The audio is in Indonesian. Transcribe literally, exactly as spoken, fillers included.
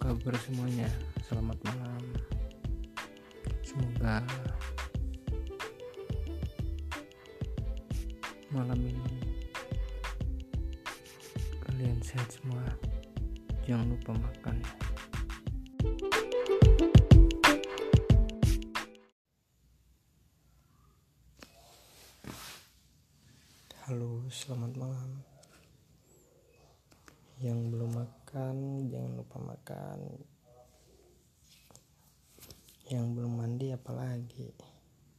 kabar semuanya? Selamat malam. Semoga malam ini kalian sehat semua. Jangan lupa makan. Halo, selamat malam. Yang belum makan, jangan lupa makan. Yang belum mandi apalagi.